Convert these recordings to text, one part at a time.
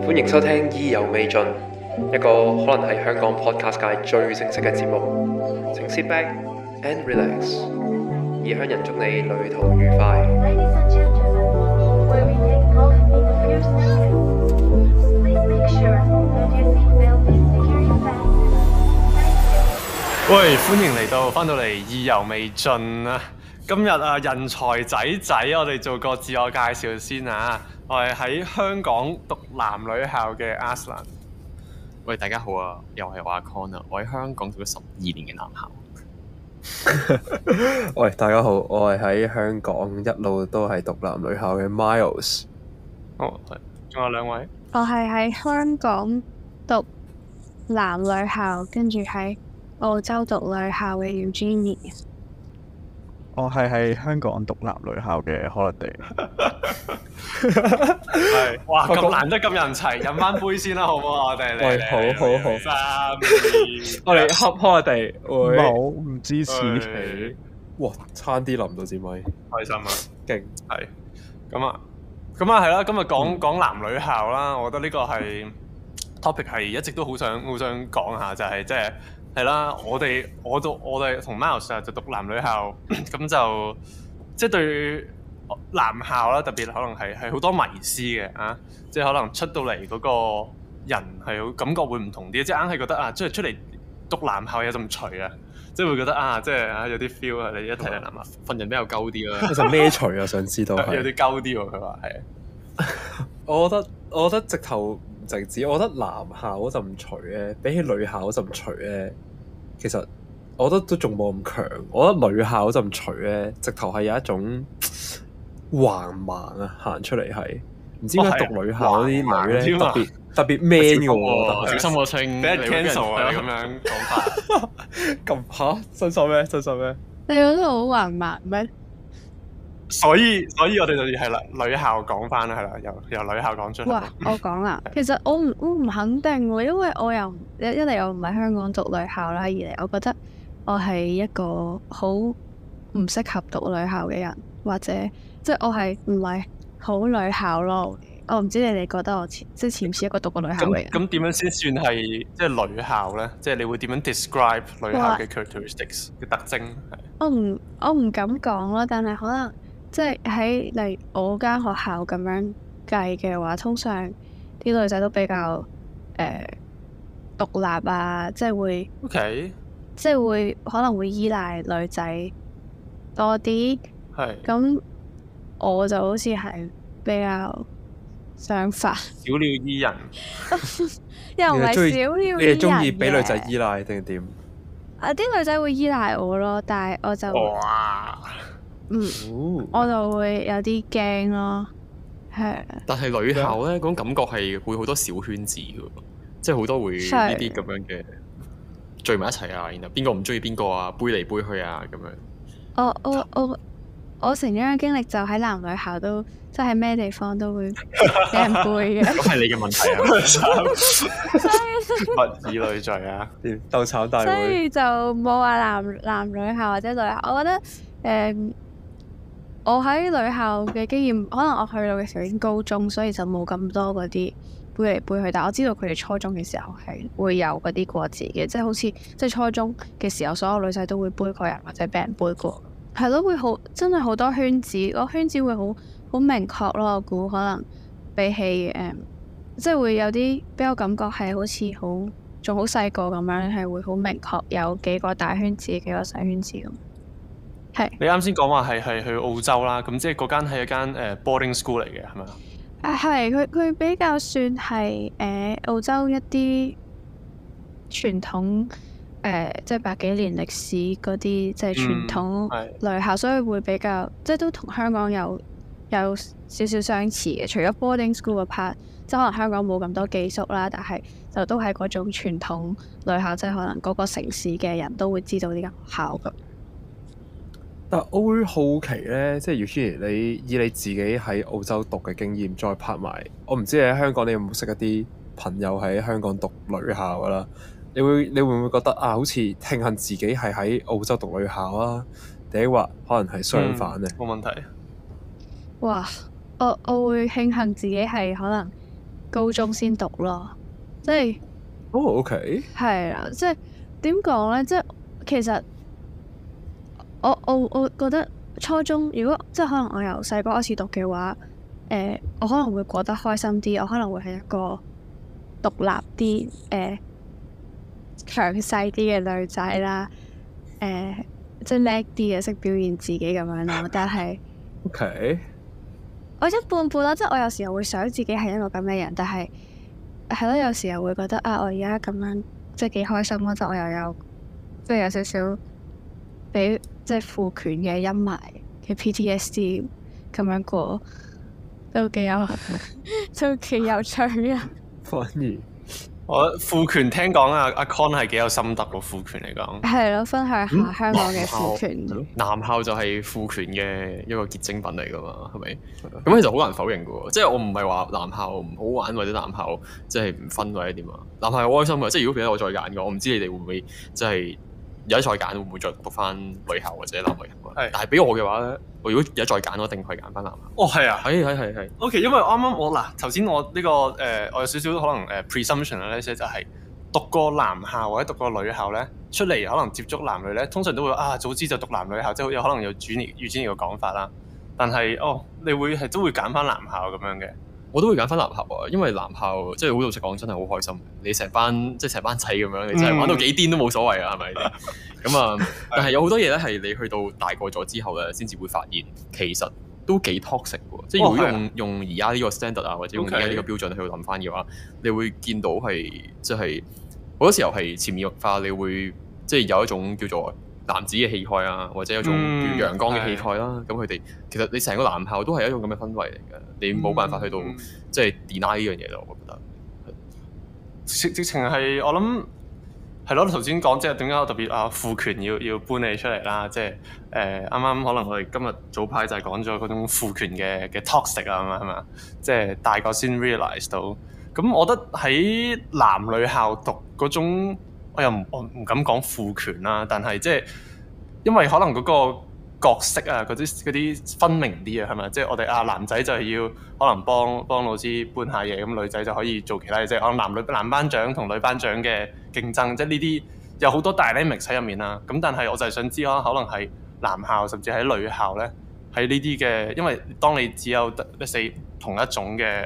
歡迎收聽意猶未盡，一個可能係香港 podcast 界最正式嘅節目。請 sit back and relax，異鄉人祝你旅途愉快。 喂，歡迎翻到嚟意猶未盡啊！今日啊，人才仔，我哋做個自我介紹先啊！我係喺香港讀男女校嘅 Aslan。 喂，大家好啊，又係我阿 Con 啊！我喺香港讀咗12年嘅男校。 喂，大家好，我係喺香港一路都係讀男女校嘅 Miles。 哦，係，仲有兩位。 我係喺香港讀男女校，跟住喺澳洲讀女校嘅 Eugenie。 我係喺香港讀男女校嘅 Holiday。 係，哇！咁難得咁人齊，飲翻杯先啦，好唔好？我哋嚟。 喂，好。 3、2， 我哋恰 Holiday。 冇，唔支持你。 哇！差啲淋到支咪， 開心啊！ 勁係。咁啊，係啦。今日講男女校啦，我覺得呢個係 topic 係一直都好想講下，就係即係。係啦，我哋同 Miles 就讀男女校，咁就即係對男校啦，特別可能係好多迷思嘅啊！即係可能出到嚟嗰個人係好感覺會唔同啲，即係硬係覺得啊，即係出嚟讀男校有陣除啊，即係會覺得啊，即係啊有啲 feel 啊！你一睇男校份人比較鳩啲啦， 其實咩除啊？想知道有啲鳩啲喎，佢話係。 我覺得直頭唔淨止，我覺得男校嗰陣除咧，比起女校嗰陣除咧，其實我覺得都仲冇咁強。我覺得女校嗰陣除咧，直頭係有一種橫蠻啊，行出嚟係唔知點解讀女校嗰啲女咧特別 man 嘅喎， 小心個稱俾人 cancel 啊！你咁樣講法咁嚇真心咩？ 你覺得好橫蠻咩？ 所以我哋就係啦，女校講翻啦，係啦，由女校講出嚟。 哇！我講啊，其實我唔肯定喎，因為我又一嚟我唔喺香港讀女校啦，二嚟我覺得我係一個好唔適合讀女校嘅人，或者即係我係唔係好女校咯。我唔知你哋覺得我似唔似一個讀過女校嘅人？ 咁點樣先算係即係女校咧？即係你會點樣 describe 女校嘅 characteristics 嘅特徵？ 我唔敢講咯，但係可能。即係喺例如我間學校咁樣計嘅話，通常啲女仔都比較獨立啊，即係會 ，OK， 即係會可能會依賴女仔多啲。 係。 咁我就好似係比較相反。 小鳥依人。 又唔係小鳥依人嘅。 你係中意俾女仔依賴定係點？ 啲女仔會依賴我咯，但係我就哇。 我就會有啲驚咯，係。 但係女校咧，嗰種感覺係會好多小圈子嘅，即係好多會呢啲咁樣嘅聚埋一齊啊，然後邊個唔中意邊個啊，背嚟背去啊咁樣。 我成長嘅經歷就喺男女校都，即係咩地方都會俾人背嘅。 咁係你嘅問題啊！ 物以類聚啊， 鬥炒大會。 所以就冇話男女校或者女校，我覺得我喺女校嘅經驗，可能我去到嘅時候已經高中，所以就冇咁多嗰啲背嚟背去。但我知道佢哋初中嘅時候係會有嗰啲過節嘅，即係好似即係初中嘅時候，所有女仔都會背過人或者俾人背過。係咯，會好真係好多圈子，個圈子會好明確咯。我估可能比起即係會有啲比較感覺係好似仲好細個咁樣，係會好明確有幾個大圈子，幾個細圈子咁。係。 你啱先講話係去澳洲啦，咁即係嗰間係一間boarding school 嚟嘅，係咪啊？ 係，佢比較算係澳洲一啲傳統即係百幾年歷史嗰啲即係傳統女校，所以會比較即係都同香港有少少相似嘅。除咗 boarding school 嘅 part，即係可能香港冇咁多寄宿啦，但係就都係嗰種傳統女校，即係可能嗰個城市嘅人都會知道呢間學校㗎。 但我會好奇咧，即係 Eugenie，你以你自己喺澳洲讀嘅經驗，再拍埋，我唔知你喺香港你有冇識一啲朋友喺香港讀女校㗎啦？你會唔會覺得啊，好似慶幸自己係喺澳洲讀女校啊，定係話可能係相反咧？ 冇問題。 哇！我會慶幸自己係可能高中先讀咯，即係 OK 係啦，即係點講咧？即係其實我覺得初中如果即係可能我由細個開始讀嘅話，我可能會過得開心啲，我可能會係一個獨立啲、強勢啲嘅女仔啦，即係叻啲嘅，識表現自己咁樣咯。但係 OK， 我一半半啦，即係我有時候會想自己係一個咁嘅人，但係係咯，有時候會覺得啊，我而家咁樣即係幾開心咯，就我又有即係有少少俾即係父權嘅陰霾嘅 PTSD 咁樣過，都幾有趣啊！ 反而我父權聽講阿 Con 係幾有心得喎，父權嚟講。 係咯，分享下香港嘅父權。 男校就係父權嘅一個結晶品嚟噶嘛，係咪？咁其實好難否認嘅喎，即係我唔係話男校唔好玩或者男校即係唔分或者點啊，男校係開心嘅。即係如果俾我再揀嘅，我唔知你哋會唔會即係有得再揀，會唔會再讀翻女校或者男女校？係。但係俾我嘅話咧，我如果有得再揀，我一定係揀翻男校。 哦，係啊， 係。 OK， 因為啱啱我嗱頭先我呢個我有少少可能presumption 咧，就係讀過男校或者讀過女校咧，出嚟可能接觸男女咧，通常都會早知就讀男女校，即係有可能有主年嘅講法啦。但係你會係都會揀翻男校咁樣嘅。 我都會揀翻男校啊，因為男校即係好老實講，真係好開心。你成班仔咁樣，你真係玩到幾癲都冇所謂啊，係咪？咁啊，但係有好多嘢咧，係你去到大個咗之後咧，先至會發現其實都幾 toxic 嘅。即係如果用而家呢個 standard 啊，或者用而家呢個標準去諗翻嘅話，你會見到係即係好多時候係潛移默化，你會即係有一種叫做男子嘅氣概啊，或者有一種叫陽光嘅氣概啦。咁佢哋其實你成個男校都係一種咁嘅氛圍嚟嘅，你冇辦法去到即係 deny 呢樣嘢咯。我覺得直情係我諗係咯。頭先講即係點解我特別父權要搬你出嚟啦？即係啱啱可能我哋今日早排就係講咗嗰種父權嘅 toxic 啊，係嘛？即係大個先 realize 到。咁我覺得喺男女校讀嗰種。我唔敢講父權啦，但係即係因為可能嗰個角色啊，嗰啲分明啲啊，係咪？即係我哋男仔就係要可能幫老師搬下嘢，咁女仔就可以做其他嘢，即係可能男班長同女班長嘅競爭，即係呢啲有好多 dynamics 喺入面啦。咁但係我就係想知可能係男校甚至喺女校咧，喺呢啲嘅，因為當你只有同一種嘅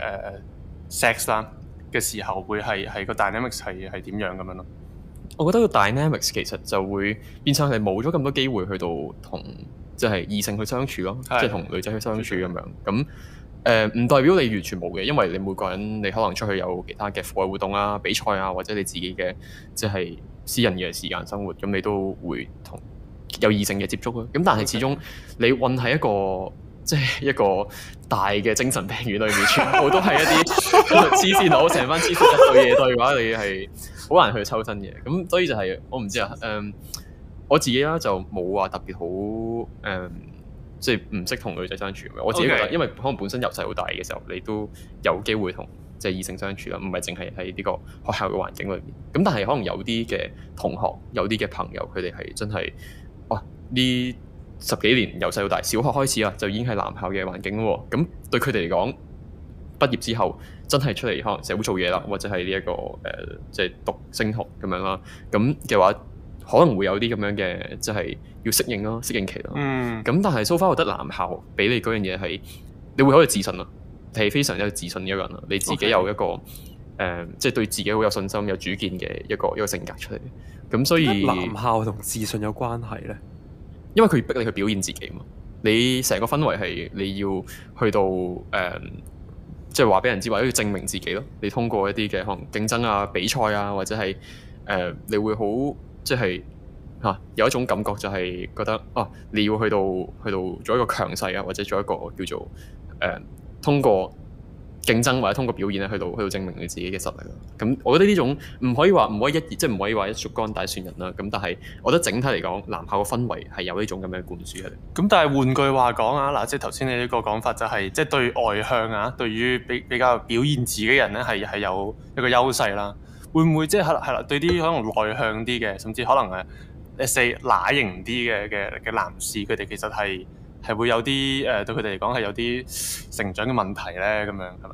sex 啦嘅時候，會係個 dynamics 係點樣咁樣咯？ 我覺得個 dynamics 其實就會變相係冇咗咁多機會去到同即係異性去相處咯，即係同女仔去相處咁樣。咁唔代表你完全冇嘅，因為你每個人你可能出去有其他嘅課外活動啊、比賽啊，或者你自己嘅即係私人嘅時間生活，咁你都會同有異性嘅接觸咯。咁但係始終你混喺一個即係一個大嘅精神病院裏面，全部都係一啲黐線佬，成班黐線一對嘢對嘅話，你係好難去抽身嘅。咁所以就係我唔知啊，我自己啦就冇話特別好即係唔識同女仔相處。我自己覺得，因為可能本身由細到大嘅時候，你都有機會同即係異性相處啦，唔係淨係喺呢個學校嘅環境裏面。咁但係可能有啲嘅同學，有啲嘅朋友，佢哋係真係哇呢10幾年由細到大，小學開始啊，就已經係男校嘅環境咯。咁對佢哋嚟講，畢業之後真係出嚟可能社會做嘢啦，或者係呢一個即係讀升學咁樣啦。咁嘅話，可能會有啲咁樣嘅，即係要適應咯，適應期咯。咁但係 so far 我覺得男校俾你嗰樣嘢係，你會好有自信啊，係非常之有自信嘅一個人啊。你自己有一個即係對自己好有信心、有主見嘅一個性格出嚟。咁所以男校同自信有關係咧？ 因為佢逼你去表現自己嘛，你成個氛圍係你要去到即係話俾人知，或者要證明自己咯。你通過一啲嘅可能競爭啊、比賽啊，或者係你會好即係有一種感覺，就係覺得你要去到做一個強勢啊，或者做一個叫做通過競爭或者通過表現咧，去到證明你自己嘅實力咯。咁我覺得呢種唔可以話即係唔可以話一竹竿打船人啦。咁但係我覺得整體嚟講，男校嘅氛圍係有呢種咁樣灌輸喺度。 咁但係換句話講啊，嗱，即係頭先你呢個講法就係即係對外向啊，對於比較表現自己嘅人咧係有一個優勢啦。會唔會即係係啦？對啲可能內向啲嘅，甚至可能乸型啲嘅男士，佢哋其實係會有啲對佢哋嚟講係有啲成長嘅問題咧，咁樣係嘛？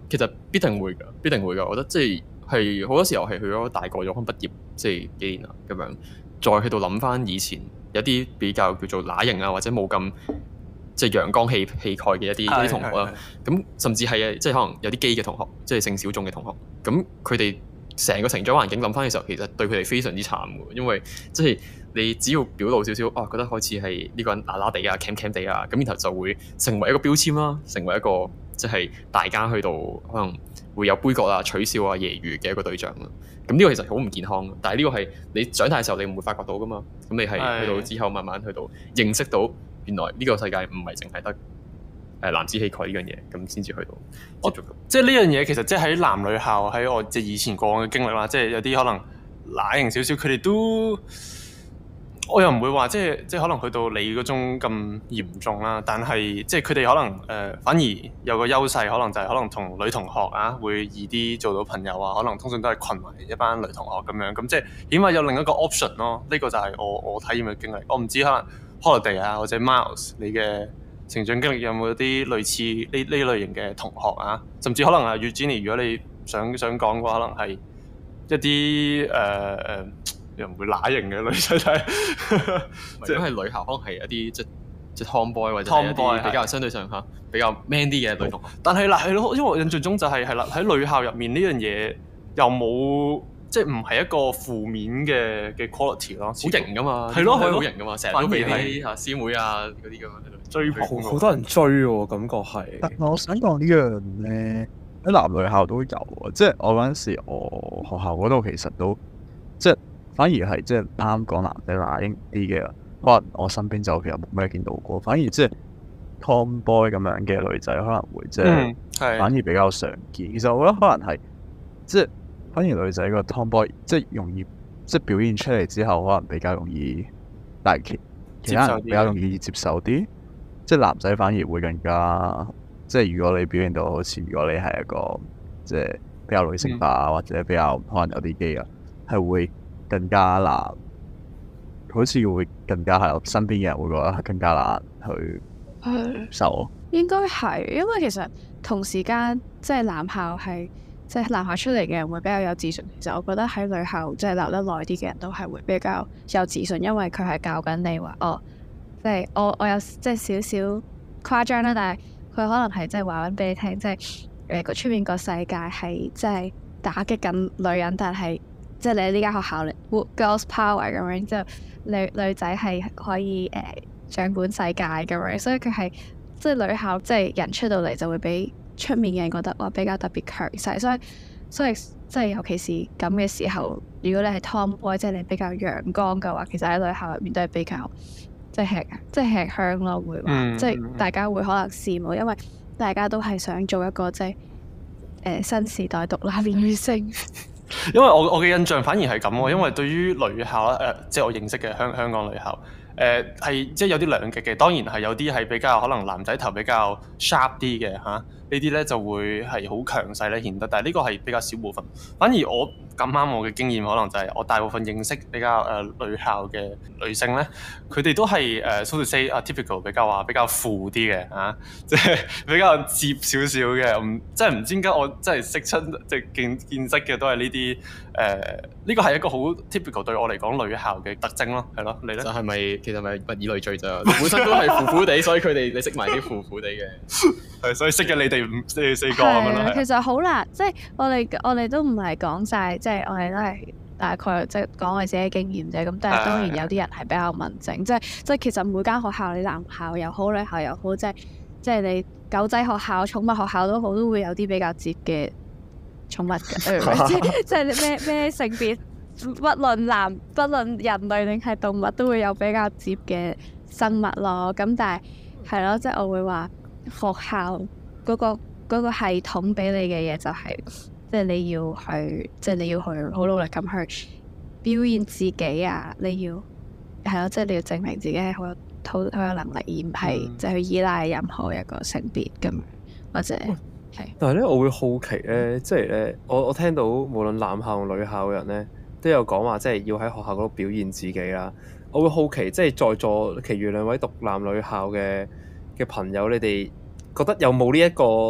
其實必定會㗎，必定會㗎。我覺得即係好多時候係去咗大個咗，可能畢業即係幾年啦咁樣，再喺度諗翻以前有啲比較叫做乸型啊，或者冇咁即係陽光氣概嘅一啲同學啦。咁甚至係即係可能有啲基嘅同學，即係性小眾嘅同學。咁佢哋成個成長環境諗翻嘅時候，其實對佢哋非常之慘嘅，因為即係你只要表露少少，覺得開始係呢個人乸乸地啊、cam 地啊，咁然後就會成為一個標籤啦，成為一個即係大家去到可能會有杯葛啊、取笑啊、揶揄嘅一個對象啦。咁呢個其實好唔健康嘅，但係呢個係你長大嘅時候你唔會發覺到噶嘛。咁你係去到之後慢慢去到認識到原來呢個世界唔係淨係得男子氣概呢樣嘢，咁先至去到接觸到。 即係呢樣嘢其實即係喺男女校喺我即係以前過往嘅經歷啦，即係有啲可能乸型少少，佢哋都我又唔會話即係可能去到你嗰種咁嚴重啦，但係即係佢哋可能反而有個優勢，可能就係可能同女同學啊會易啲做到朋友啊，可能通常都係群埋一班女同學咁樣，咁即係起碼有另一個 option 咯。呢個就係我體驗嘅經歷。我唔知可能 Holiday 啊或者 Miles 你嘅成長經歷有冇啲類似呢類型嘅同學啊，甚至可能啊 Eugenie 如果你想講嘅話，可能係一啲又唔會乸型嘅女仔仔， 即係女校可能係一啲即係 Tomboy 或者係一啲比較相對上嚇比較 man 啲嘅女同學。 但係係咯，因為我印象中就係啦，喺女校入面呢樣嘢又冇即係唔係一個負面嘅 quality 咯，好型㗎嘛， 係咯， 好型㗎嘛，成日都俾啲師妹啊嗰啲咁樣追捧， 好多人追喎，感覺係。 但我想講呢樣咧，喺男女校都有啊，即係我嗰陣時，我學校嗰度其實都即係反而係即係啱講男仔乸型啲嘅，可能我身邊就其實冇咩見到過，反而即係 Tomboy 咁樣嘅女仔可能會即係反而比較常見。其實我覺得可能係即係反而女仔個 Tomboy 即係容易即係表現出嚟之後，可能比較容易，但係其他人比較容易接受啲。即係男仔反而會更加，即係如果你表現到好似如果你係一個即係比較女性化或者比較可能有啲基啊，係會更加難，好似會更加係我身邊嘅人會覺得更加難去受。 應該係，因為其實同時間即係男校係即係男校出嚟嘅人會比較有自信。其實我覺得喺女校即係留得耐啲嘅人都係會比較有自信，因為佢係教緊你話即係我有即係少少誇張啦，但係佢可能係即係話緊俾你聽，即係個出面個世界係即係打擊緊女人，但係即係你喺呢間學校嚟 girls power 咁樣，之後女仔係可以掌管世界咁樣，所以佢係即係女校即係人出到嚟就會俾出面嘅人覺得哇比較特別強勢，所以即係尤其是咁嘅時候，如果你係 Tomboy 即係你比較陽光嘅話，其實喺女校入面都係比較。即係吃香咯，會話，即係大家會可能羨慕，因為大家都係想做一個即係新時代獨立女性。 因為我嘅印象反而係咁喎，因為對於女校即係我認識嘅香港女校，係即係有啲兩極嘅。當然係有啲係比較可能男仔頭比較 sharp 啲嘅嚇，呢啲咧就會係好強勢咧顯得，但係呢個係比較少部分。反而我咁啱我嘅經驗可能就係我大部分認識比較女校嘅女性咧，佢哋都係so to say typical 比較負啲嘅嚇，即係比較接少少嘅，即係唔知點解我真係識親即係見識嘅都係呢啲呢個係一個好 typical 對我嚟講女校嘅特徵咯，係咯，你咧？就係咪其實咪物以類聚咋？本身都係苦苦地，所以佢哋你識埋啲苦苦地嘅，係所以識嘅你哋四個咁樣咯。 其實好難，即係我哋都唔係講晒，即係我哋都係大概即係講我自己經驗啫。咁但係當然有啲人係比較文靜，即係其實每間學校你男校又好，女校又好，即係你狗仔學校、寵物學校都好，都會有啲比較接嘅寵物嘅，即係咩性別，不論人類定係動物，都會有比較接嘅生物咯。咁但係咯，即係我會話學校嗰個系統俾你嘅嘢就係，即係你要去好努力咁去表現自己啊！你要係咯，即係你要證明自己係好有能力，而唔係即係去依賴任何一個性別咁樣，或者係。 但係咧，我會好奇咧，即係咧，我聽到無論男校同女校嘅人咧，都有講話，即係要喺學校嗰度表現自己啦。我會好奇，即係在座其餘兩位讀男女校嘅朋友，你哋覺得有冇呢一個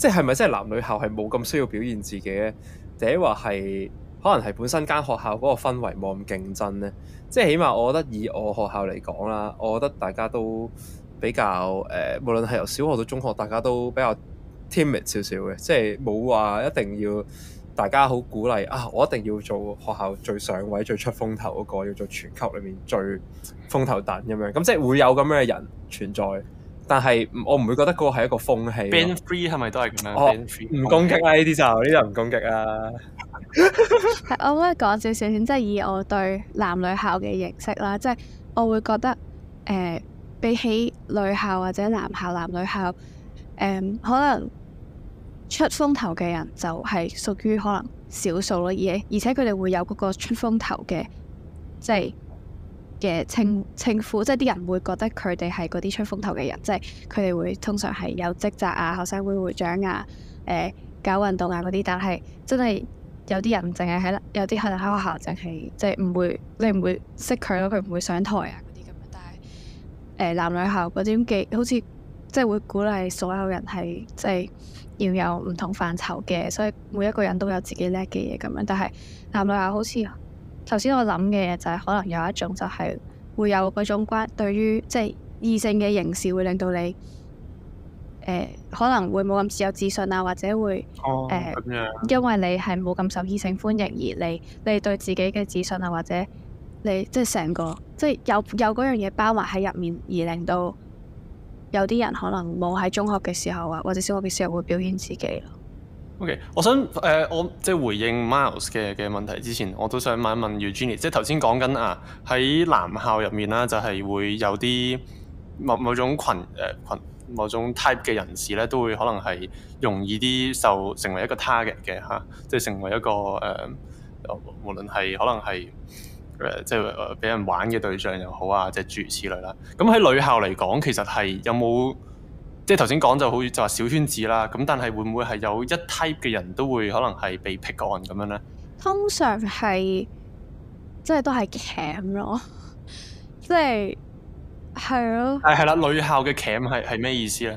即係咪真係男女校係冇咁需要表現自己咧？定係話係可能係本身間學校嗰個氛圍冇咁競爭咧？即係起碼我覺得以我學校嚟講啦，我覺得大家都比較無論係由小學到中學，大家都比較 timid 少少嘅，即係冇話一定要大家好鼓勵啊！我一定要做學校最上位、最出風頭嗰個，要做全級裏面最風頭躉咁樣。咁即係會有咁樣嘅人存在，但係我唔會覺得嗰個係一個風氣。 Band 3係咪都係咁樣？ 唔攻擊啦，呢啲就唔攻擊啦。 係，我可以講少少先，即係以我對男女校嘅認識啦，即係我會覺得比起女校或者男校、男女校，可能出風頭嘅人就係屬於可能少數咯，而且佢哋會有嗰個出風頭嘅即係嘅稱呼，即係啲人會覺得佢哋係嗰啲出風頭嘅人，即係佢哋會通常係有職責啊、學生會會長啊、搞運動啊嗰啲，但係真係有啲人淨係喺有啲可能喺學校淨係即係唔會你唔會識佢咯，佢唔會上台啊嗰啲咁樣，但係男女校嗰啲嘅好似即係會鼓勵所有人係即係要有唔同範疇嘅，所以每一個人都有自己叻嘅嘢咁樣。但係男女校好似頭先我諗嘅嘢就係可能有一種就係會有嗰種對於即係異性嘅凝視會令到你可能會冇咁有自信啊，或者會因為你係冇咁受異性歡迎而你對自己嘅自信啊，或者你即係成個即係有嗰樣嘢包埋喺入面，而令到有啲人可能冇喺中學嘅時候啊，或者小學嘅時候會表現自己咯。 OK， 我想我即係回應 Miles 嘅問題之前，我都想問一問 Eugenie， 即係頭先講緊啊喺男校入面啦，就係會有啲某種某種 type 嘅人士咧，都會可能係容易啲成為一個 target 嘅嚇，即係成為一個無論係可能係即係俾人玩嘅對象又好啊，即係諸如此類啦。咁喺女校嚟講，其實係有冇即係頭先講就好似就話小圈子啦。咁但係會唔會係有一 type 嘅人都會可能係被 pick on 咁樣咧？ 通常係即係都係 cam 咯，即係。係咯， 係啦，女校嘅 cam 係咩意思咧？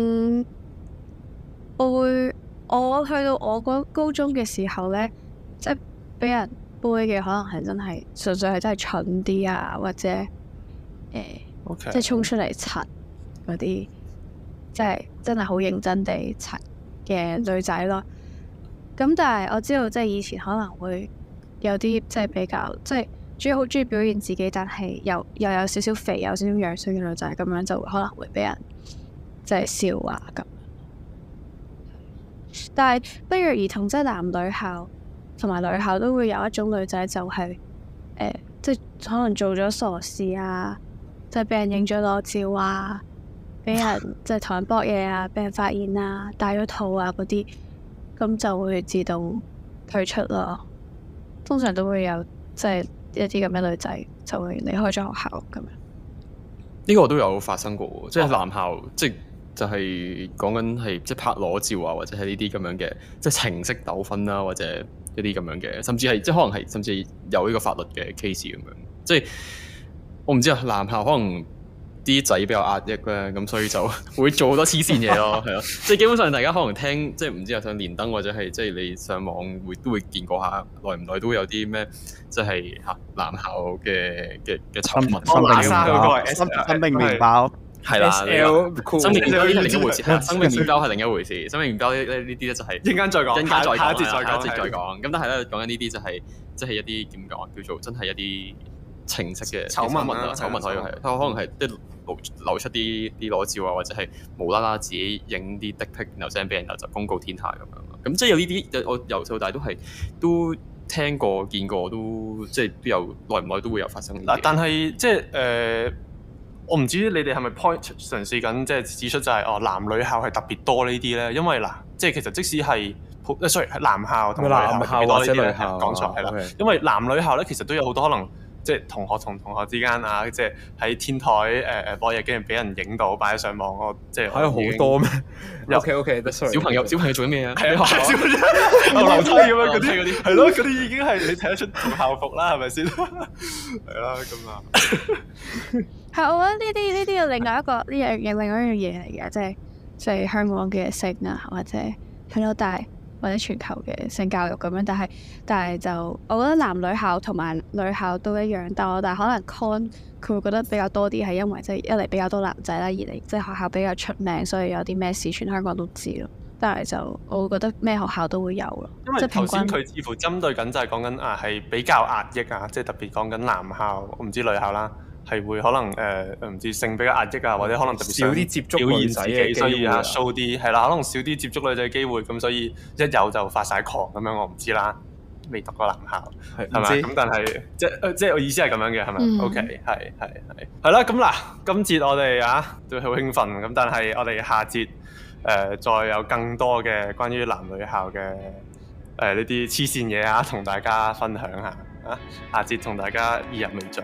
我去到我高中嘅時候咧，即係俾人杯嘅可能係真係純粹係真係蠢啲啊，或者即係衝出嚟柒嗰啲，即係真係好認真地柒嘅女仔咯。咁但係我知道即係以前可能會有啲即係比較即係。主要好中意表現自己，但係又有少少肥，有少少樣衰嘅女仔，咁樣就可能會俾人即係笑話咁。但係不約而同，即係男女校同埋女校都會有一種女仔，就係即係可能做咗傻事啊，即係俾人影咗裸照啊，俾人即係同人搏嘢啊，俾人發現啊，戴咗套啊嗰啲，咁就會自動退出咯。通常都會有即係。一啲咁嘅女仔就會離開咗學校咁樣。 呢個都有發生過，即係男校，即係就係講緊係即係拍裸照啊，或者係呢啲咁樣嘅，即係情色糾紛啦，或者一啲咁樣嘅，甚至係即係可能係甚至有呢個法律嘅 case 咁樣。即係我唔知啊，男校可能啲仔比較壓抑咧，咁所以就會做好多黐線嘢咯，係咯。即係基本上大家可能聽，即係唔知啊，上連登或者係即係你上網都會見過下，耐唔耐都會有啲咩，即係嚇男校嘅醜聞。 生命麵包係啦，生命麵包係另一回事，生命麵包係另一回事。生命麵包呢啲咧就係一陣間再講，下一節再講。咁但係咧講緊呢啲就係即係一啲點講叫做真係一啲情色嘅醜聞啦，醜聞可以係，可能係即係流出啲裸照啊，或者係無啦啦自己影啲 dick pic，然後 send 俾人，然後就公告天下咁樣。咁即係有呢啲，我由細到大都聽過、見過，都即係都有耐唔耐都會有發生。 嗱，但係即係我唔知你哋係咪 point 嘗試緊即係指出就係男女校係特別多呢啲咧？因為嗱，即係其實即使係sorry 係男校同女校特別多呢啲咧，講錯係啦。因為男女校咧其實都有好多可能。即係同學同同學之間啊，即係喺天台播嘢，竟然俾人影到擺上網，我即係係好多咩？OK， 小朋友做緊咩啊？ 係啊，小朋友樓梯咁樣嗰啲，係咯，嗰啲已經係你睇得出同校服啦，係咪先？係啦，咁啊， 係我覺得呢啲有另外一個另外一樣嘢嚟嘅， 即係香港嘅性啊，或者係咯，或者全球嘅性教育咁樣。但係就我覺得男女校同埋女校都一樣，但係可能 con 佢會覺得比較多啲，係因為即係一嚟比較多男仔啦，二嚟即係學校比較出名，所以有啲咩事全香港都知咯。但係就我會覺得咩學校都會有咯。 因為頭先佢似乎針對緊就係講緊係比較壓抑啊，即係特別講緊男校，我唔知女校啦，係會可能唔知性比較壓抑啊，或者可能特別少啲接觸女仔嘅機會， 所以show啲係啦，可能少啲接觸女仔嘅機會，咁所以一有就發晒狂咁樣，我唔知啦，未讀過男校係咪？咁但係即係我意思係咁樣嘅係咪？OK 係啦，咁嗱，今節我哋都好興奮，咁但係我哋下節再有更多嘅關於男女校嘅呢啲黐線嘢同大家分享下下節同大家意猶未盡。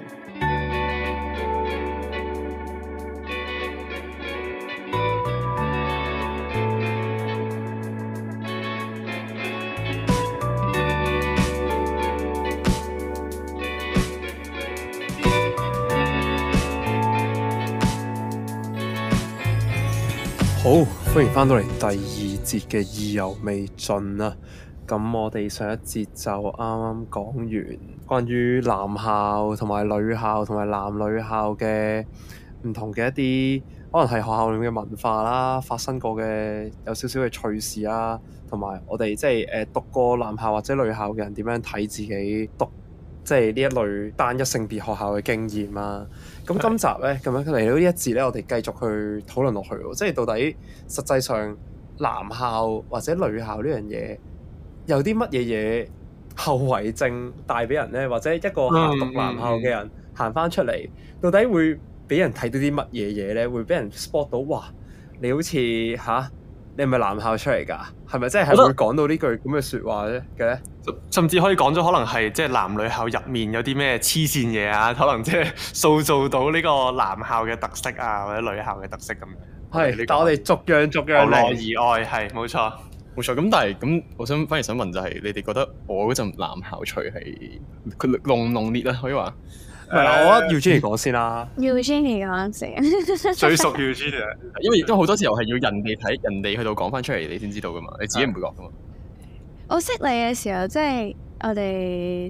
好，歡迎翻到嚟第二節嘅意猶未盡啦。咁我哋上一節就啱啱講完關於男校同埋女校同埋男女校嘅唔同嘅一啲可能係學校裏面嘅文化啦，發生過嘅有少少嘅趣事啦，同埋我哋即係讀過男校或者女校嘅人點樣睇自己讀即係呢一類單一性別學校嘅經驗啊。咁今集咧咁樣嚟到呢一節咧，我哋繼續去討論落去喎，即係到底實際上男校或者女校呢樣嘢有啲乜嘢後遺症帶俾人咧，或者一個讀男校嘅人行翻出嚟，到底會俾人睇到啲乜嘢嘢咧？會俾人 spot 到，哇！你好似你係咪男校出嚟㗎？係咪真係會講到呢句咁嘅説話嘅咧？ 甚至可以講咗，可能係即係男女校入面有啲咩黐線嘢啊？可能即係塑造到呢個男校嘅特色啊，或者女校嘅特色咁樣。 係，但我哋逐樣嚟。 由內而外係冇錯。 冇錯，咁但係咁，我反而想問就係，你哋覺得我嗰陣男校除係佢濃烈啊？可以話？ 我覺得 Eugenie 講先啦。 Eugenie 講先， 最熟 Eugenie 因為好多時候係要人哋睇，人哋去到講翻出嚟，你先知道噶嘛，你自己唔會覺噶嘛。 我識你嘅時候，即係我哋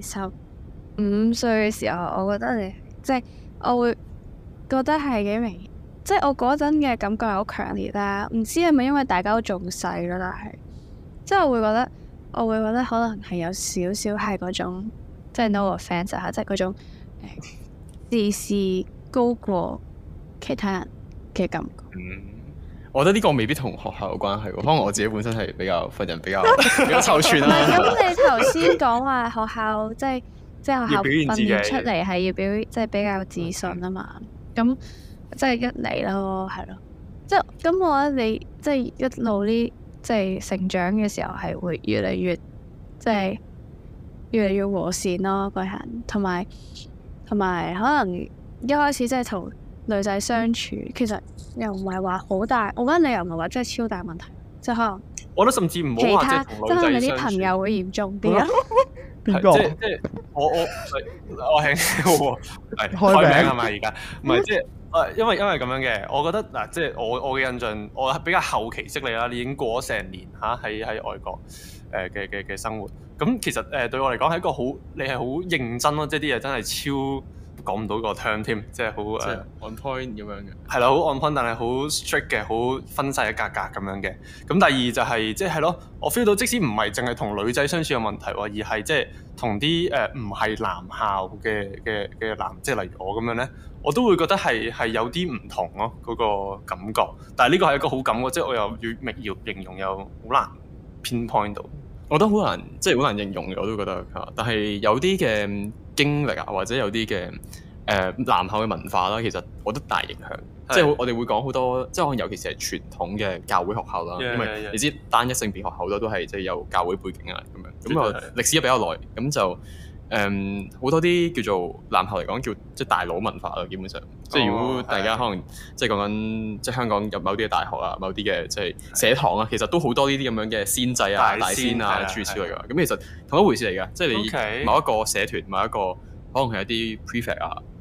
15歲嘅時候，我覺得你即係我會覺得係幾明顯，即係我嗰陣嘅感覺係好強烈啦。唔知係咪因為大家都仲細咯，但係即係我會覺得可能係有少少係嗰種即係 no offense 啊，即係嗰種自視高過其他人嘅感覺。 我覺得呢個未必同學校有關係喎，可能我自己本身係比較份人比較臭串啦。 唔係咁，你頭先講話學校即係學校訓練出嚟係要即係比較自信啊嘛。咁即係一嚟咯，係咯。即係咁，我覺得你即係一路呢即係成長嘅時候係會越嚟越即係越嚟越和善咯，個人同埋可能一開始即係同女仔相處，其實又唔係話好大，我覺得你又唔係話真係超大問題，即係可能我覺得甚至唔好話即係同女仔相處，即係可能你啲朋友會嚴重啲啊。 邊個？ 即係我係開名係咪而家？唔係即係因為咁樣嘅，我覺得嗱，即係我嘅印象，我係比較後期識你啦，你已經過咗成年喺外國嘅生活，咁其實對我嚟講係一個你係好認真咯，即係啲嘢真係超。講唔到個 term 添，即係好 on point 咁樣嘅， 係啦，好 on point，但係好 strict 嘅，好分晒一格格咁樣嘅。咁第二就係即係咯，我 feel 到即使唔係淨係同女仔相處有問題喎，而係即係同啲唔係男校嘅男，即係例如我咁樣咧，我都會覺得係有啲唔同咯，嗰個感覺。但係呢個係一個好感覺，即係我又要形容又好難 pinpoint 到。 我覺得好難，即係好難形容嘅，我都覺得嚇。但係有啲嘅經歷啊，或者有啲嘅男校嘅文化啦，其實我覺得大影響。即係我哋會講好多，即係可能尤其是係傳統嘅教會學校啦，因為你知單一性別學校好多都係即係有教會背景啊咁樣。咁啊歷史比較耐，咁就好多啲叫做男校嚟講叫即係大佬文化啦，基本上。即係如果大家可能即係講緊即係香港入某啲嘅大學啊，某啲嘅即係社堂啊，其實都好多呢啲咁樣嘅仙制啊、大仙啊諸如此類㗎。咁其實同一回事嚟㗎，即係你某一個社團、某一個可能係一啲 prefect 啊，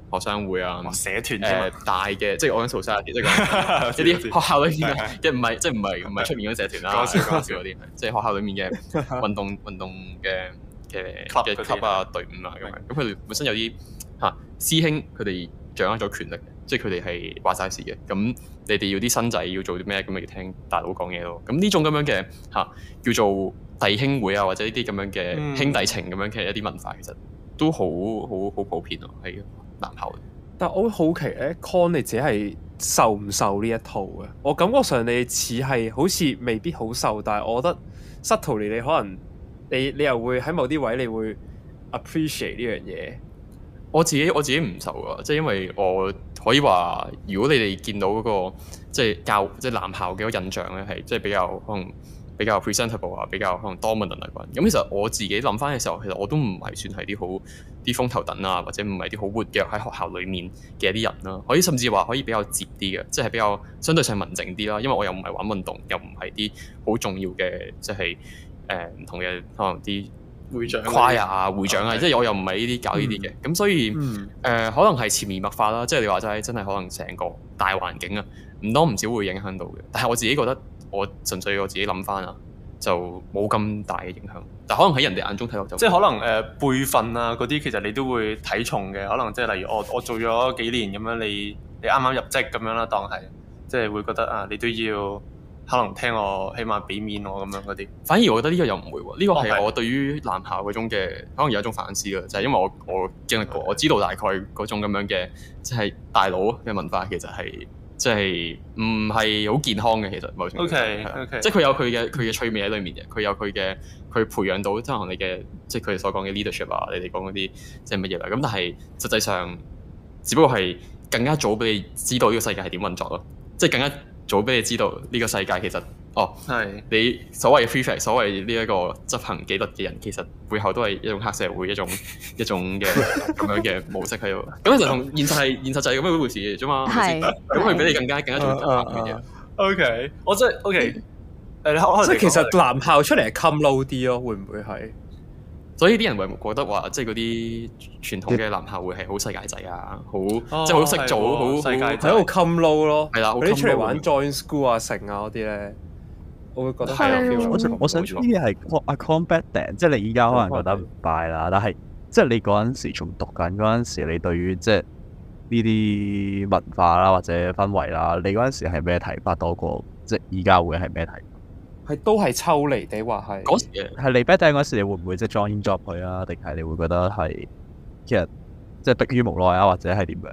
學生會啊， 社團大嘅，即係我講 society，即係講一啲學校裏面嘅，唔係出面嗰啲社團啦，講笑嗰啲，即係學校裏面嘅運動嘅 club 啊隊伍啊咁樣。咁佢哋本身有啲師兄，佢哋掌握咗權力，即係佢哋係話晒事嘅。咁你哋要啲新仔要做啲咩，咁咪要聽大佬講嘢咯。咁呢種咁樣嘅叫做弟兄會啊，或者呢啲咁樣嘅兄弟情咁樣嘅一啲文化，其實都好普遍咯喺男校。 但我好奇咧 ，Con 你自己係受唔受呢一套嘅？我感覺上你似係好似未必好受，但係我覺得 subtly 你可能你又會喺某啲位你會 appreciate 呢樣嘢。 我自己唔受啊，即係因為我可以話，如果你哋見到嗰個即係男校嘅印象咧，係即係比較可能比較 presentable 啊，比較可能 dominant 啊咁。其實我自己諗翻嘅時候，其實我都唔係算係啲風頭躉啊，或者唔係啲好活躍喺學校裡面嘅一啲人啦。可以甚至話可以比較接啲嘅，即係比較相對上文靜啲啦。因為我又唔係玩運動，又唔係啲好重要嘅，即係唔同嘅可能啲會長、choir 啊、會長啊，即係我又唔係呢啲搞呢啲嘅。咁所以可能係潛移默化啦。即係你話齋，真係可能成個大環境啊，唔多唔少會影響到嘅。但係我自己覺得，我純粹我自己諗翻啊，就冇咁大嘅影響。但可能喺人哋眼中睇落就即係可能輩分啊嗰啲，其實你都會睇重嘅。可能即係例如我做咗幾年咁樣，你啱啱入職咁樣啦，當係即係會覺得啊，你都要可能聽我，起碼俾面我咁樣嗰啲。反而我覺得呢個又唔會喎，呢個係我對於男校嗰種嘅可能有一種反思啦，就係因為我經歷過，我知道大概嗰種咁樣嘅即係大佬嘅文化其實係。即係唔係好健康嘅，其實某程度上係即係佢有佢嘅趣味喺裏面嘅，佢有佢培養到即係可能你嘅即係佢哋所講嘅 leadership 啊，你哋講嗰啲即係乜嘢啦。咁但係實際上，只不過係更加早俾你知道呢個世界係點運作咯，即係更加早俾你知道呢個世界其實你所謂嘅 prefect， 所謂呢一個執行紀律嘅人，其實背後都係一種黑社會，一種嘅咁樣嘅模式喺度。咁其實同現實就係咁樣一回事嘅啫嘛。係。咁佢俾你更加重要嘅。OK， 我真係 OK。 即係其實男校出嚟係 come low 啲咯，會唔會係？ 所以啲人會覺得話，即係嗰啲傳統嘅男校會係好世界仔啊，好即係好識做，好世界仔喺度 come low 咯。 係啦， 嗰啲出嚟玩 join school 啊、成啊嗰啲咧。我會覺得係我想知嘅係阿 Combat Dan， 即係你依家可能覺得唔 buy 啦，但係即係你嗰陣時仲讀緊嗰陣時，你對於即係呢啲文化啦或者氛圍啦，你嗰陣時係咩睇法多過即係依家會係咩睇法？ 係都係抽離地話係嗰時係你 Bad Dan 嗰時，你會唔會即係 join job 佢啊？定係你會覺得係其實即係迫於無奈啊，或者係點樣？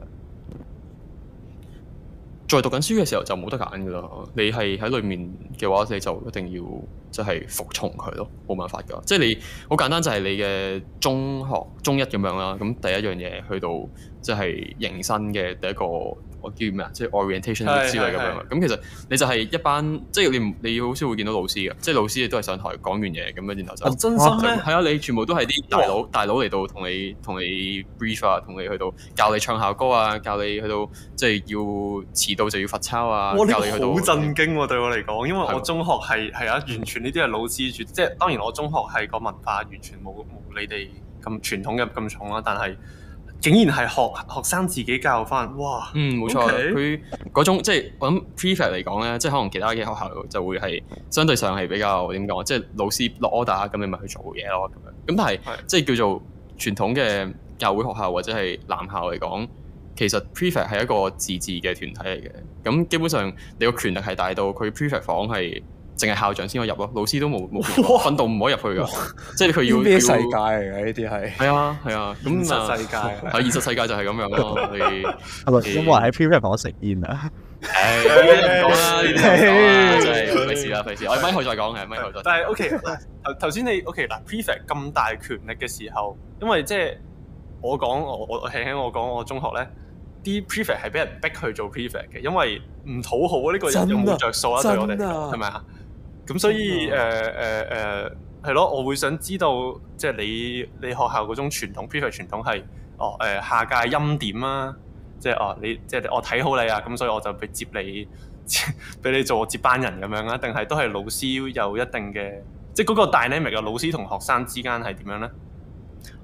在讀緊書嘅時候就冇得揀㗎啦，你係喺裏面嘅話，你就一定要即係服從佢咯，冇辦法㗎。即係你好簡單，就係你嘅中學中一咁樣啦。咁第一樣嘢去到即係迎新嘅第一個我叫咩啊？即係 orientation 之類咁樣。咁其實你就係一班即係你好少會見到老師嘅，即係老師亦都係上台講完嘢咁樣，然後就真心咩？ 係啊，你全部都係啲大佬嚟到同你 brief 啊，同你去到教你唱校歌啊，教你去到即係要遲到就要罰抄啊。 哇！呢個好震驚喎，對我嚟講，因為我中學係完全呢啲係老師主，即係當然我中學係個文化完全冇你哋咁傳統嘅咁重啦，但係竟然係學生自己教翻，哇！ 冇錯，佢嗰種即係我諗 prefect 嚟講咧，即係可能其他嘅學校就會係相對上係比較點講，即係老師落 order 咁你咪去做嘢咯咁樣。咁但係即係叫做傳統嘅教會學校或者係男校嚟講，其實 prefect 係一個自治嘅團體嚟嘅。咁基本上你個權力係大到佢 prefect 房係淨係校長先可以入咯，老師都冇訓導唔可以入去㗎。即係佢要咩世界嚟嘅呢啲係？ 係啊，咁現實世界係現實世界就係咁樣咯。 係咪因為喺 prefect 房食煙啊？ 講啦，呢啲真係費事。我咪後再講嘅，咪後再。 但係 OK， 頭先你 OK 嗱 prefect 咁大權力嘅時候，因為即係我講我中學咧。啲 prefect 係俾人逼去做 prefect 嘅，因為唔討好呢個人又冇着數啊，對我哋係咪啊？咁所以係咯，我會想知道即係你學校嗰種傳統 prefect 傳統係下屆欽點啊，即係你即係我睇好你啊，咁所以我就俾接你俾你做接班人咁樣啊？定係都係老師有一定嘅即係嗰個 dynamic 嘅老師同學生之間係點樣咧？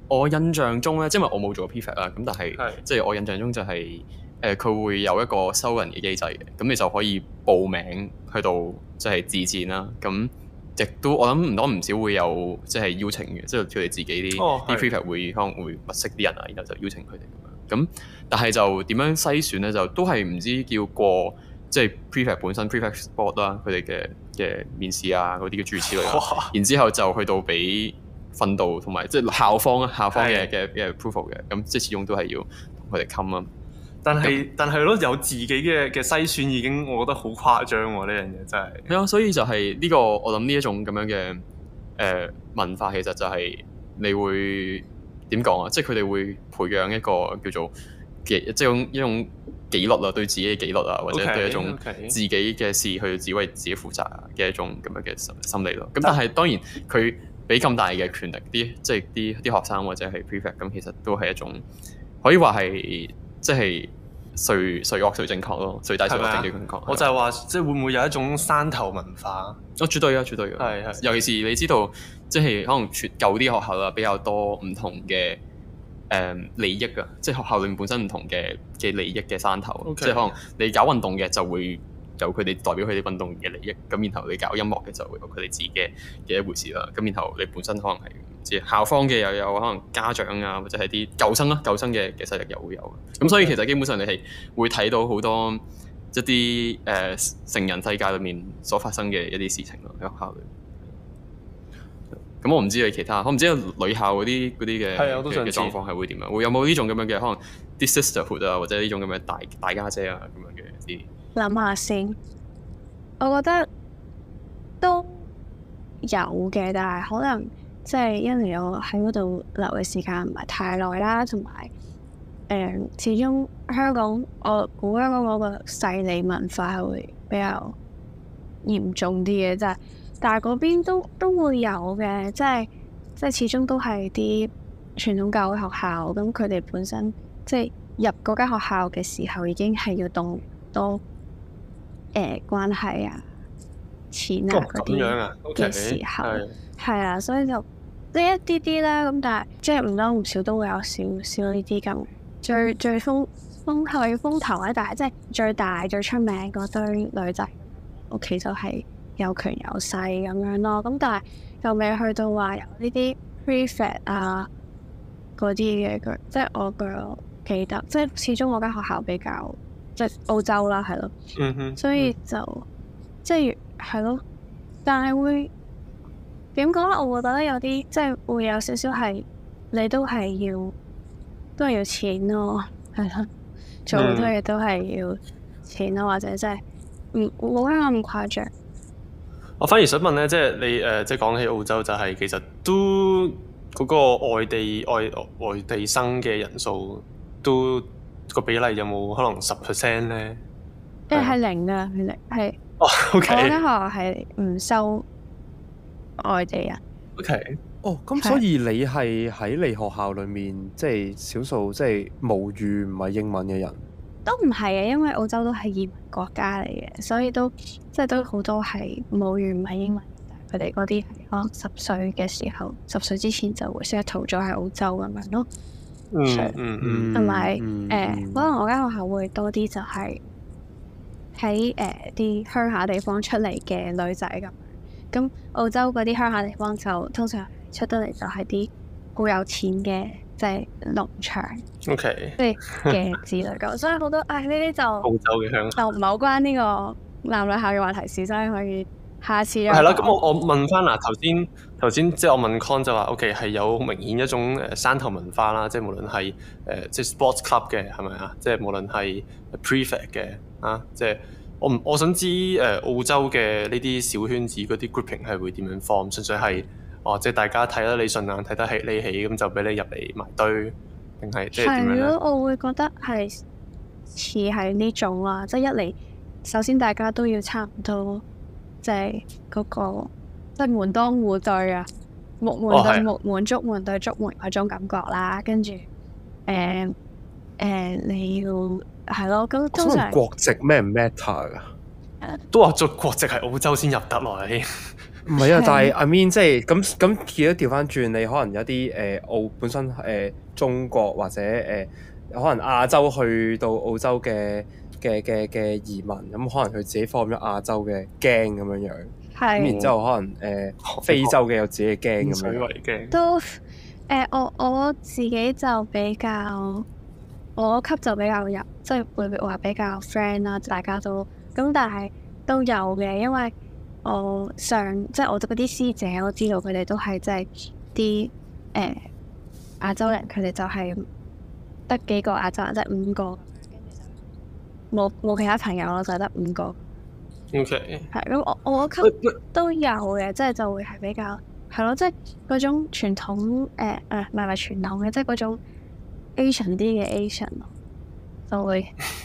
我印象中咧，因為我冇做過 prefect 啦，咁但係即係我印象中就係佢會有一個收人嘅機制嘅，咁你就可以報名去到即係自薦啦。咁亦都我諗唔多唔少會有即係邀請嘅，即係佢哋自己啲 prefect 會可能會物色啲人啊，然後就邀請佢哋咁樣。咁但係就點樣篩選咧？就都係唔知叫過即係 prefect 本身 prefect board 啦，佢哋嘅面試啊嗰啲嘅諸如此類啦，然之後就去到俾訓導同埋即係校方嘅 approval 嘅，咁即係始終都係要同佢哋冚啊。但係咯，有自己嘅篩選已經，我覺得好誇張喎！呢樣嘢真係。係啊，所以就係呢個我諗呢一種咁樣嘅文化，其實就係你會點講啊？即係佢哋會培養一個叫做即係一種紀律啊，對自己嘅紀律啊，或者對一種自己嘅事去只為自己負責嘅一種咁樣嘅心理咯。咁但係當然佢俾咁大嘅權力，即係啲學生或者係 prefect， 咁其實都係一種可以話係。即係誰惡誰正確咯，誰大誰惡正確。我就係話，即係會唔會有一種山頭文化？絕對啊，絕對嘅。係。尤其是你知道，即係可能舊啲學校啦，比較多唔同嘅利益啊，即係學校裏面本身唔同嘅利益嘅山頭。Okay. 即係可能你搞運動嘅就會有佢哋代表佢哋運動員嘅利益，咁然後你搞音樂嘅就會有佢哋自己嘅一回事啦。咁然後你本身可能係即係校方嘅又有可能家長啊，或者係啲舊生嘅勢力又會有。咁所以其實基本上你係會睇到好多一啲成人世界裏面所發生嘅一啲事情咯，喺學校裏。咁我唔知你其他，我唔知女校嗰啲嘅狀況係會點樣？會有冇呢種咁樣嘅可能啲 sisterhood 啊，或者呢種咁嘅大家姐啊咁樣嘅啲？諗下先，我覺得都有嘅，但係可能即係因為我喺嗰度留嘅時間唔係太耐啦，同埋始終香港我估香港嗰個勢利文化係會比較嚴重啲嘅，即係但係嗰邊都會有嘅，即係始終都係啲傳統教育學校，咁佢哋本身即係入嗰間學校嘅時候已經係要動多。關係啊、錢啊嗰啲嘅時候，係啊，所以就即係一啲啦。咁但係即係唔多唔少都會有少少呢啲咁最風頭咧。但係即係最大最出名嗰堆女仔屋企就係有權有勢咁樣咯。咁但係又未去到話有呢啲 prefect 啊嗰啲嘅。即係我記得，即係始終我間學校比較。即係澳洲啦，係咯，所以就即係係咯，但係會點講咧？我覺得有啲即係會有少少係你都係要錢咯，係咯，做好多嘢都係要錢咯，或者即係冇香港咁誇張。我反而想問咧，即係你即係講起澳洲，就係其實都嗰個外地生嘅人數都。個比例有冇可能10% 咧？係零㗎，係零係。哦，OK。我間學校係唔收外地人。OK。 哦，咁所以你係喺你學校裏面，即係少數即係母語唔係英文嘅人？ 都唔係嘅，因為澳洲都係移民國家嚟嘅，所以都即係都好多係母語唔係英文。佢哋嗰啲係可能10歲嘅時候，10歲之前就會 settle咗喺澳洲咁樣咯。同埋可能我間學校會多啲就係喺啲鄉下地方出嚟嘅女仔咁。咁澳洲嗰啲鄉下地方就通常出得嚟就係啲好有錢嘅，即係農場，OK，即係嘅子女咁。所以好多呢啲就澳洲嘅鄉下就唔係好關呢個男女校嘅話題事，所以可以下次係啦。咁我問翻嗱頭先即係我問 Con 就話 OK 係有明顯一種山頭文化啦，即係無論係即係 sports club 嘅係咪啊？即係無論係 prefect 嘅啊，即係我想知澳洲嘅呢啲小圈子嗰啲 grouping 係會點樣 form？ 純粹係即係大家睇得你順眼，睇得你起咁就俾你入嚟埋堆，定係即係點樣咧？係咯，我會覺得係似係呢種啦，即係一嚟首先大家都要差唔多，即係嗰個。即係門當戶對啊，木門對木門，竹門對竹門嗰種感覺啦。跟住你要係咯，咁通常國籍咩唔 matter 噶？都話做國籍係澳洲先入得來。 唔係啊，但係 I mean 即係咁，如果調翻轉，你可能有啲澳本身中國或者可能亞洲去到澳洲嘅移民，咁可能佢自己放咗亞洲嘅驚咁樣樣，咁然之後可能非洲嘅有自己嘅驚咁樣樣， 都我自己就比較我級就比較入，即係會話比較 friend 啦，大家都咁，但係都有嘅，因為我即係我嗰啲師姐，我知道佢哋都係即係啲亞洲人，佢哋就係得幾個亞洲人，即係5個，冇其他朋友咯，就係得5個。 OK。 係咁，我級都有嘅，即係就會係比較係咯，即係嗰種傳統唔係傳統嘅，即係嗰種 Asian 啲嘅 Asian 咯，就會。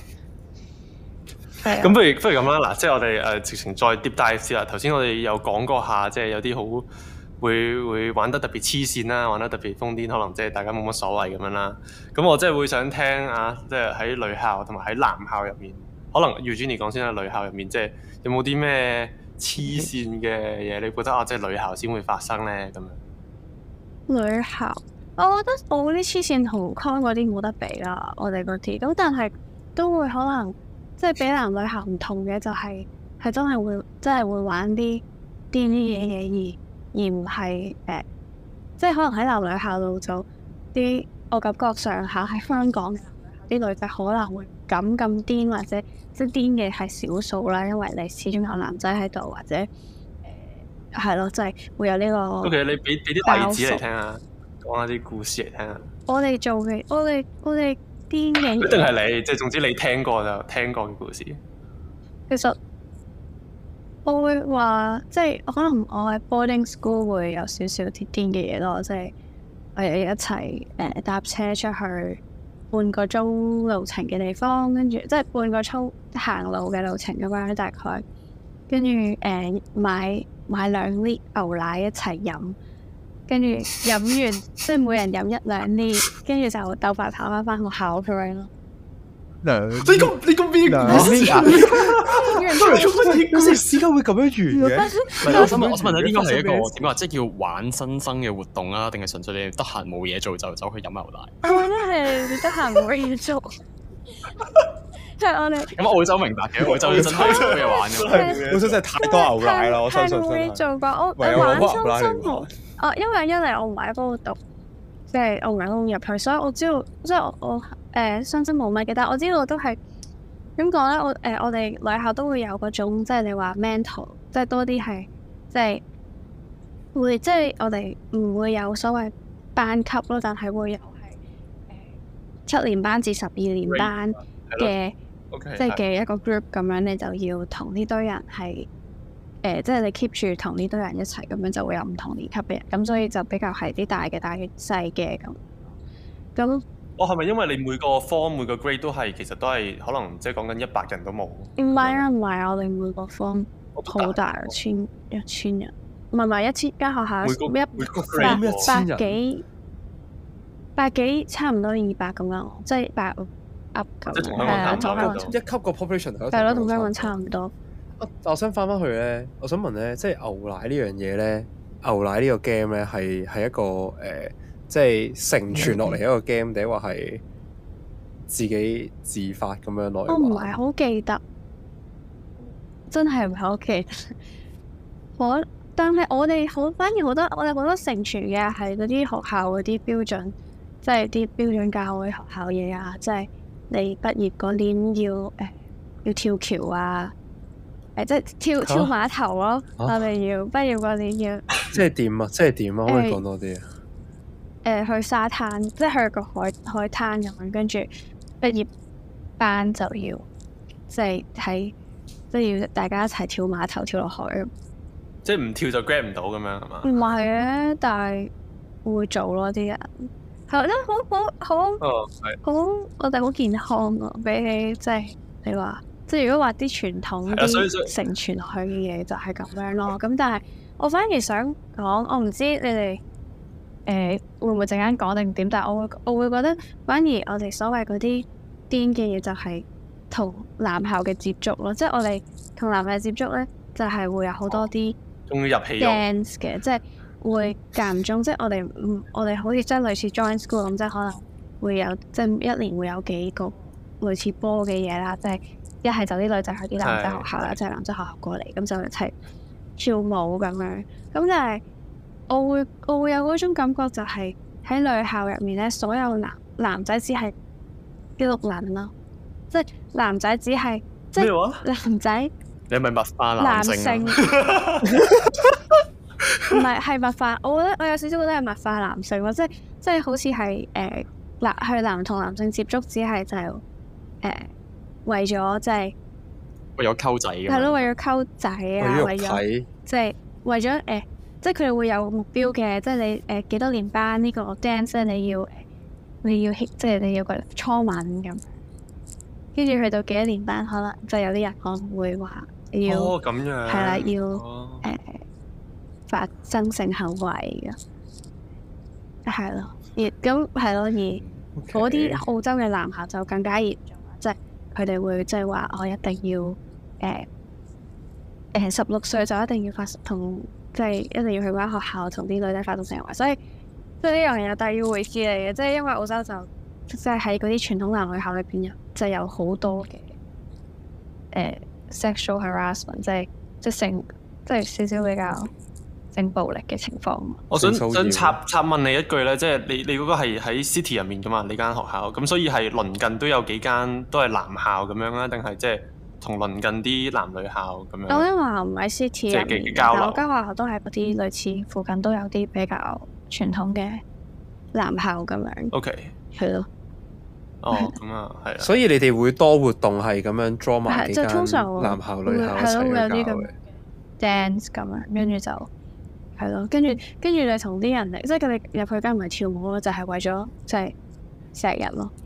咁不如咁啦，嗱，即係我哋直情再 deep dive 先啦。頭先我哋有講過下，即係有啲好會玩得特別黐線啦，玩得特別瘋癲，可能即係大家冇乜所謂咁樣啦。咁我真係會想聽啊，即係喺女校同埋喺男校入面，可能 Eugenie 講先啦。女校入面即係有冇啲咩黐線嘅嘢？你覺得即係女校先會發生咧咁樣？ 女校，我覺得我嗰啲黐線同 con 嗰啲冇得比啦，我哋嗰啲咁，但係都會可能。即係比男女校唔同嘅就係真係會玩啲癲啲嘢而唔係即係可能喺男女校度就啲我感覺上下喺香港啲女仔可能會咁癲或者即係癲嘅係少數啦，因為你始終有男仔喺度或者係咯，即係會有呢個。 OK， 你俾啲例子嚟聽下，講下啲故事嚟聽下。 我哋做嘅，我哋。癲嘅一定係你，即係總之你聽過嘅故事。 其實我會話，即係可能我喺 boarding school 會有少少啲癲嘅嘢咯，即係我哋一齊搭車出去半個鐘路程嘅地方，跟住即係半個鐘行路嘅路程咁樣大概，跟住買2 lit 牛奶一齊飲。跟住飲完，即係每人飲1 2 lit，跟住就鬥快跑翻學校咁樣咯。 你咁咩故事啊？ 嗰時時間會咁樣完嘅？ 我想問下，應該係一個點話，即係叫玩新生嘅活動啊，定係純粹你得閒冇嘢做就走去飲牛奶？ 我覺得係你得閒冇嘢做，即係我哋。 咁澳洲明白嘅，澳洲真係冇嘢玩嘅。 澳洲真係太多牛奶啦，我相信真係。 冇嘢做過，我玩新生活。因為一嚟我唔係喺嗰度讀，即係我唔係咁入去，所以我知道，即係我新生冇乜嘅，但係我知道都係點講咧？我哋女校都會有嗰種，即係你話 mental，即係多啲係，即係會，即係我哋唔會有所謂班級咯，但係會有係7年班至12年班嘅，即係嘅一個 group 咁樣，你就要同呢堆人係。即係你 keep 住同呢堆人一齊咁樣，就會有唔同年級嘅人，咁所以就比較係啲大嘅、細嘅咁。咁我係咪因為你每個 form 每個 grade 都係其實都係可能即係講緊100人都冇？唔係啊，唔係我哋每個 form 好大，1000人，唔係1000間學校100幾百幾，差唔多200咁樣，即係100 up 咁。 即係同香港差唔多。 一級個 population 係咯，同香港差唔多。 我想翻去咧，我想問咧，即係牛奶呢樣嘢咧，牛奶呢個 game 咧係一個即係承傳落嚟一個 game，定話係自己自發咁樣落嚟？我唔係好記得，真係唔係好記得。但係我哋反而好多，我哋好多承傳嘅係嗰啲學校嗰啲標準，即係啲標準教會學校嘢啊，即係你畢業嗰年要跳橋啊。即係跳碼頭咯，我哋要畢業嗰年要。即係點啊？可唔可以講多啲啊？去沙灘，即係去個海灘咁樣，跟住畢業班就要，即係要大家一齊跳碼頭，跳落海。 即係唔跳就 grab 唔到咁樣係嘛？ 唔係嘅，但係會做咯啲人，係真好，我哋好健康啊！比起即係你話。即係如果話啲傳統啲承傳落去嘅嘢就係咁樣咯，咁但係我反而想講，我唔知你哋會唔會陣間講定點，但係我會覺得反而我哋所謂嗰啲癲嘅嘢就係同男校嘅接觸咯，即係我哋同男校接觸咧就係會有好多啲終於入戲 dance 嘅，即係會間唔中，即係我哋好似即係類似 join school 咁，即係可能會有即係一年會有幾個類似波嘅嘢啦，即係一係就啲女仔去啲男仔學校啦，即係男仔學校過嚟，咁就一齊跳舞咁樣。咁但係我會有嗰種感覺，就係喺女校入面咧，所有男仔只係啲碌撚咯，即係男仔只係即係男仔。 你係咪物化男性？ 唔係物化，我覺得我有少少覺得係物化男性咯，即係好似係去男同男性接觸，只係就係為咗即係為咗溝仔嘅。 係咯，為咗溝仔啊，為咗即係為咗即係佢哋會有目標嘅，即係你幾多年班呢個 dance 你要即係你要個初吻咁，跟住去到幾多年班，可能就有啲人可能會話要咁樣係啦，要發生性行為嘅，係咯，咁係咯，而嗰啲澳洲嘅男校就更加嚴重，即係佢哋會即係話我一定要16歲就一定要即係一定要去間學校同啲女仔發生性行為，所以呢樣嘢又第二回事嚟嘅，即係因為澳洲就即係喺嗰啲傳統男女校裏邊就有好多嘅sexual harassment， 即係性，即係少少比較性暴力嘅情況。 我想插問你一句咧，即係你嗰個係喺 city 入面噶嘛？你間學校咁，所以係鄰近都有幾間都係男校咁樣啦，定係即係同鄰近啲男女校咁樣？ 我間學校唔喺 city 入面，但我間學校都係嗰啲類似附近都有啲比較傳統嘅男校咁樣。 OK， 係咯。 哦，咁啊，係啊。 所以你哋會多活動係咁樣 draw 埋幾間通常男校女校一齊去搞嘅 dance 咁樣，跟住就係咯，跟住你同啲人嚟，即係佢哋入去間唔係跳舞咯，就係為咗即係錫人咯。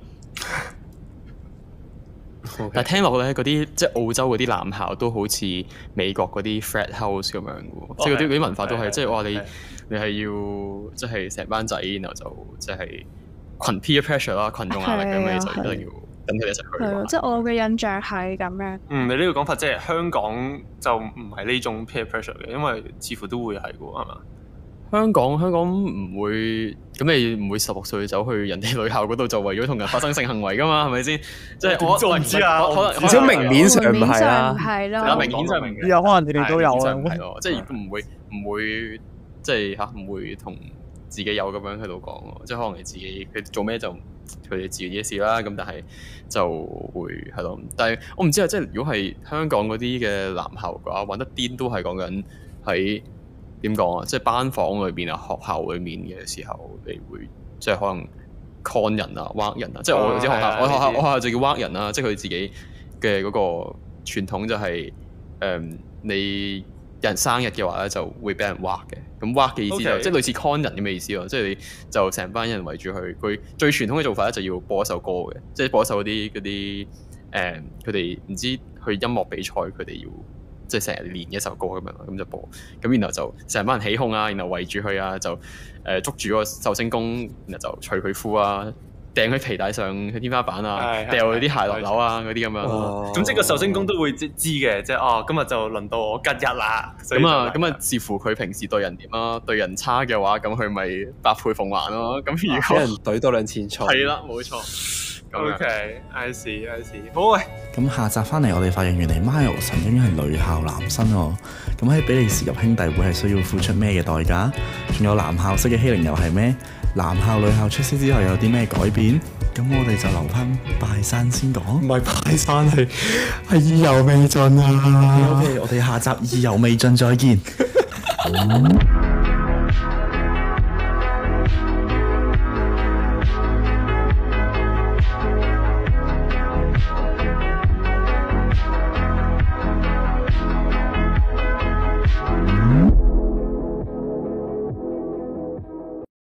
但係聽落咧，嗰啲即係澳洲嗰啲男校都好似美國嗰啲 frat house 咁樣嘅喎，即係嗰啲文化都係即係話你係要即係成班仔，然後就即係群 peer pressure 啦，群眾壓力咁，你就一定要跟佢哋一齊去。係咯， 即係我嘅印象係咁樣。 你呢個講法即係香港就唔係呢種 peer pressure 嘅，因為似乎都會係嘅喎，係嘛？ 香港唔會，咁你唔會16歲走去人哋女校嗰度就為咗同人發生性行為噶嘛？係咪先？即係我唔知啊，可能至少明面上唔係啦， 明顯上明有可能你哋都有啊， 係咯，即係亦都唔會即係唔會同自己有咁樣喺度講咯，即係可能你自己佢做咩就佢哋自己嘅事啦。咁但係就會係咯，但係我唔知啊，即係如果係香港嗰啲嘅男校嘅話，玩得癲都係講緊喺。點講啊？即係班房裏邊啊，學校裏面嘅時候，你會即係可能 con 人啊、屈人啊。即係我啲學校，我學校就叫屈人啦。即係佢自己嘅嗰個傳統就係你人生日嘅話咧，就會俾人屈嘅。咁屈嘅意思就即係類似 con 人咁嘅意思咯。即係你就成班人圍住佢，佢最傳統嘅做法咧就要播一首歌嘅，即係播一首嗰啲佢哋唔知去音樂比賽，佢哋要。即係成日練一首歌咁樣，咁就播，咁然後就成班人起哄啊，然後圍住佢啊，就捉住個壽星公，然後就除佢褲啊，掟佢皮帶上去天花板啊，掉佢啲鞋落樓啊嗰啲咁樣。 咁即係個壽星公都會知嘅，即係今日就輪到我吉日啦。 咁啊，視乎佢平時對人點啦，對人差嘅話，咁佢咪百倍奉還咯。咁如果俾人懟多兩錢菜， 係啦，冇錯。 OK，I see，好喂。 咁下集翻嚟，我哋發現原來 Miles 曾經係女校男生喎。咁喺比利時入兄弟會係需要付出咩嘅代價？仲有男校式嘅欺凌又係咩？男校女校出師之後有啲咩改變？咁我哋就留翻拜山先講。唔係拜山，係意猶未盡啊！OK，我哋下集意猶未盡再見。